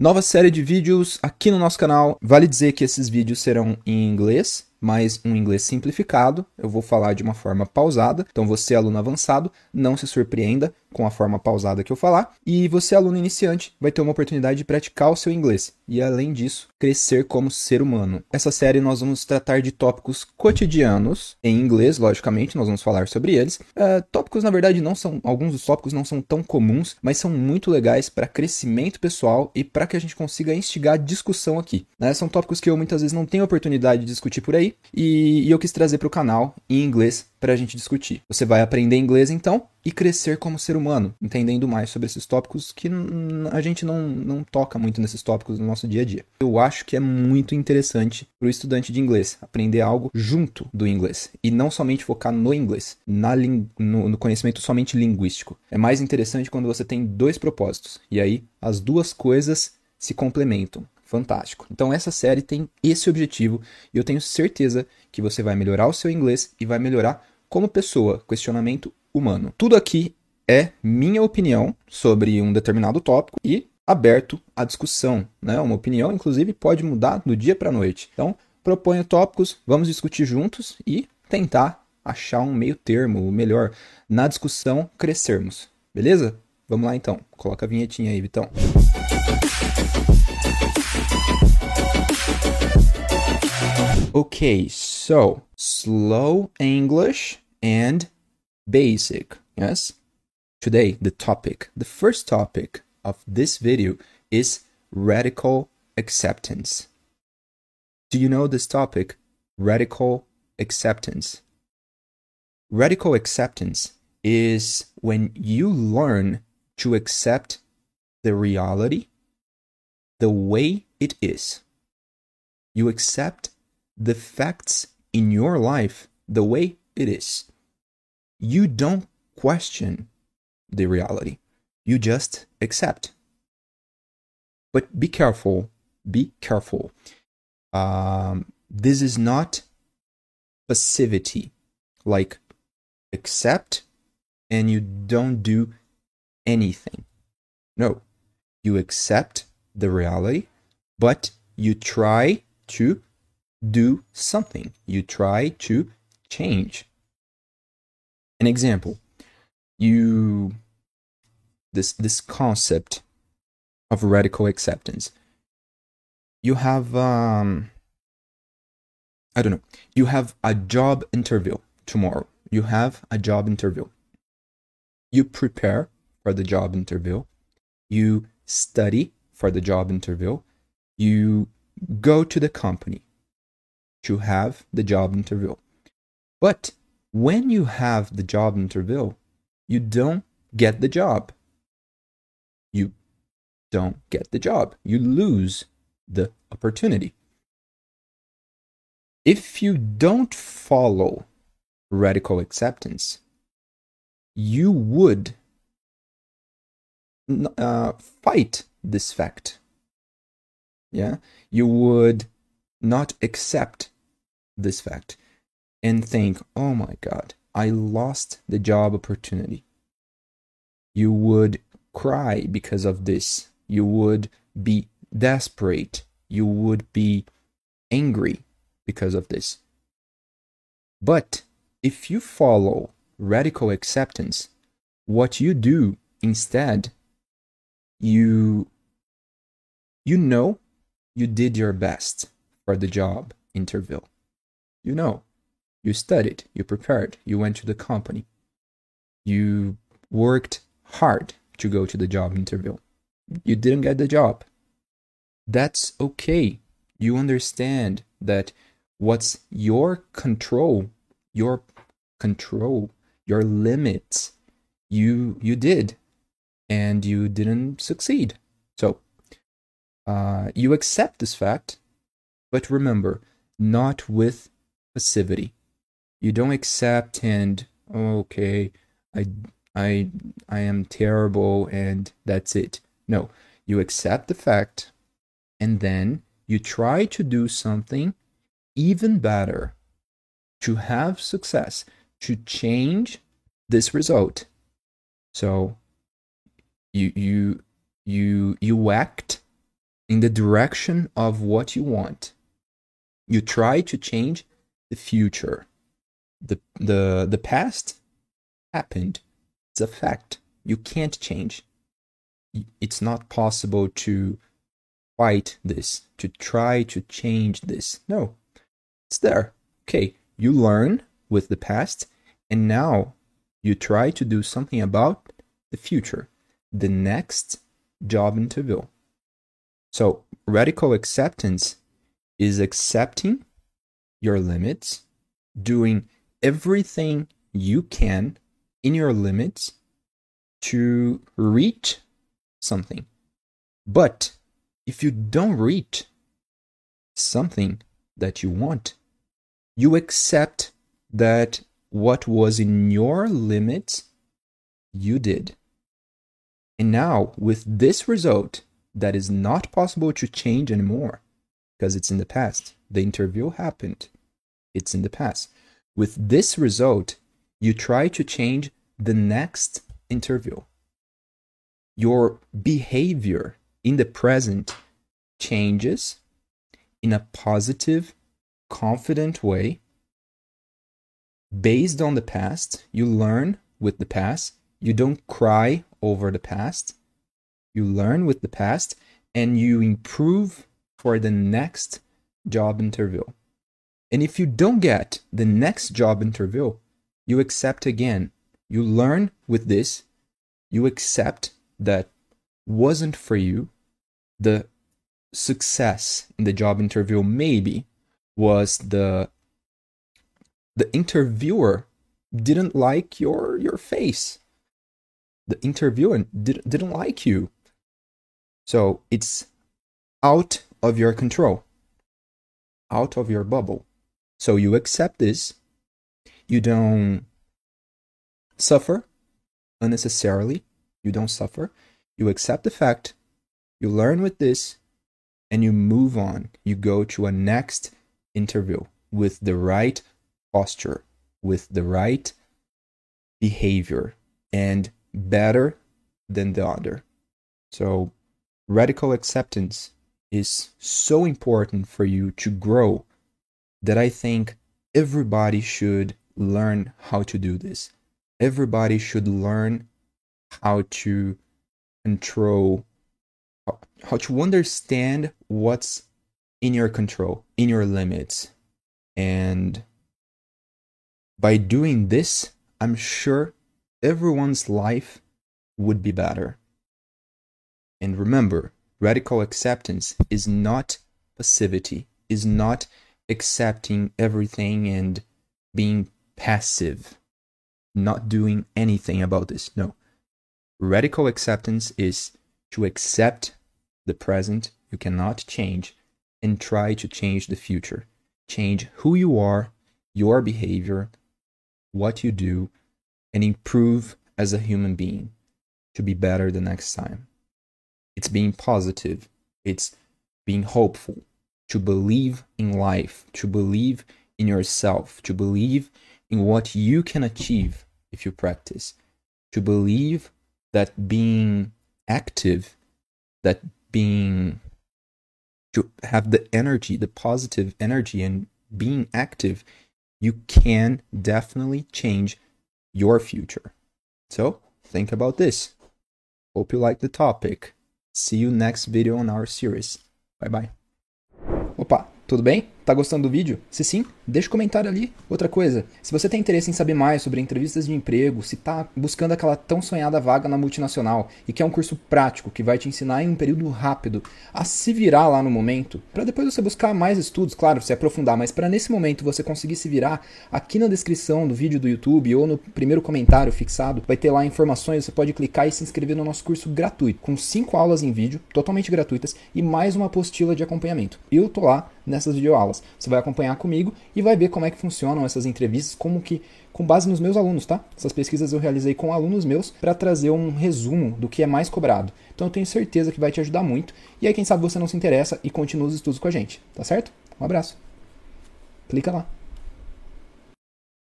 Nova série de vídeos aqui no nosso canal. Vale dizer que esses vídeos serão em inglês, mas um inglês simplificado. Eu vou falar de uma forma pausada. Então você, aluno avançado, não se surpreenda com a forma pausada que eu falar. E você, aluno iniciante, vai ter uma oportunidade de praticar o seu inglês. E além disso, crescer como ser humano. Essa série nós vamos tratar de tópicos cotidianos, em inglês, logicamente, nós vamos falar sobre eles. Tópicos, na verdade, não são. Alguns dos tópicos não são tão comuns, mas são muito legais para crescimento pessoal e para que a gente consiga instigar discussão aqui. Né? São tópicos que eu muitas vezes não tenho oportunidade de discutir por aí e eu quis trazer para o canal em inglês para a gente discutir. Você vai aprender inglês então e crescer como ser humano, entendendo mais sobre esses tópicos que a gente não toca muito nesses tópicos no nosso dia a dia. Eu acho que é muito interessante para o estudante de inglês aprender algo junto do inglês e não somente focar no inglês, no conhecimento somente linguístico. É mais interessante quando você tem dois propósitos e aí as duas coisas se complementam. Fantástico. Então essa série tem esse objetivo e eu tenho certeza que você vai melhorar o seu inglês e vai melhorar como pessoa, questionamento humano. Tudo aqui é minha opinião sobre um determinado tópico e aberto à discussão, né? Uma opinião, inclusive, pode mudar do dia para a noite. Então, proponho tópicos, vamos discutir juntos e tentar achar um meio termo, o melhor, na discussão crescermos. Beleza? Vamos lá então. Coloca a vinhetinha aí, Vitão. Okay, so slow English and basic, yes? Today, the first topic of this video is radical acceptance. Do you know this topic? Radical acceptance. Radical acceptance is when you learn to accept the reality the way it is. You accept the facts in your life the way it is. You don't question the reality. You just accept. But be careful. Be careful. This is not passivity. Like accept and you don't do anything. No. You accept the reality, but you try to do something. You try to change. An example, this concept of radical acceptance. You have you have a job interview tomorrow. You have a job interview. You prepare for the job interview. You study for the job interview. You go to the company to have the job interview. But when you have the job interview, you don't get the job. You don't get the job. You lose the opportunity. If you don't follow radical acceptance, you would fight this fact. Yeah, you would not accept this fact and think, oh my God, I lost the job opportunity. You would cry because of this. You would be desperate. You would be angry because of this. But if you follow radical acceptance, what you do instead, you know you did your best for the job interview. You know, you studied, you prepared, you went to the company. You worked hard to go to the job interview. You didn't get the job. That's okay. You understand that what's your control, your limits, you did, and you didn't succeed. So, you accept this fact, but remember, not with passivity. You don't accept and, oh, okay, I am terrible and that's it. No, you accept the fact and then you try to do something even better to have success, to change this result. So you act in the direction of what you want. You try to change the future. The past happened. It's a fact. You can't change. It's not possible to fight this, to try to change this. No, it's there. Okay, you learn with the past, and now you try to do something about the future, the next job interview. So radical acceptance is accepting your limits, doing everything you can in your limits to reach something. But if you don't reach something that you want, you accept that what was in your limits, you did. And now, with this result, that is not possible to change anymore because it's in the past. The interview happened. It's in the past. With this result, you try to change the next interview. Your behavior in the present changes in a positive, confident way. Based on the past, you learn with the past. You don't cry over the past. You learn with the past and you improve for the next job interview. And if you don't get the next job interview, you accept again. You learn with this. You accept that wasn't for you. The success in the job interview maybe was the interviewer didn't like your face. The interviewer didn't like you. So it's out of your control, out of your bubble. So you accept this. You don't suffer unnecessarily. You don't suffer. You accept the fact. You learn with this. And you move on. You go to a next interview with the right posture, with the right behavior, and better than the other. So radical acceptance is so important for you to grow that I think everybody should learn how to do this. Everybody should learn how to control, how to understand what's in your control, in your limits. And by doing this, I'm sure everyone's life would be better. And remember, radical acceptance is not passivity, is not accepting everything and being passive, not doing anything about this. No. Radical acceptance is to accept the present you cannot change and try to change the future. Change who you are, your behavior, what you do, and improve as a human being to be better the next time. It's being positive. It's being hopeful, to believe in life, to believe in yourself, to believe in what you can achieve if you practice, to believe that being active, that being, to have the energy, the positive energy and being active, you can definitely change your future. So think about this. Hope you like the topic. See you next video on our series. Bye bye. Opa, tudo bem? Tá gostando do vídeo? Se sim, deixa um comentário ali. Outra coisa, se você tem interesse em saber mais sobre entrevistas de emprego, se tá buscando aquela tão sonhada vaga na multinacional e quer um curso prático que vai te ensinar em um período rápido a se virar lá no momento, para depois você buscar mais estudos, claro, se aprofundar, mas para nesse momento você conseguir se virar, aqui na descrição do vídeo do YouTube ou no primeiro comentário fixado, vai ter lá informações, você pode clicar e se inscrever no nosso curso gratuito, com 5 aulas em vídeo, totalmente gratuitas, e mais uma apostila de acompanhamento. Eu tô lá nessas videoaulas. Você vai acompanhar comigo e vai ver como é que funcionam essas entrevistas, como que, com base nos meus alunos, tá? Essas pesquisas eu realizei com alunos meus para trazer um resumo do que é mais cobrado. Então eu tenho certeza que vai te ajudar muito. E aí quem sabe você não se interessa e continua os estudos com a gente, tá certo? Um abraço. Clica lá.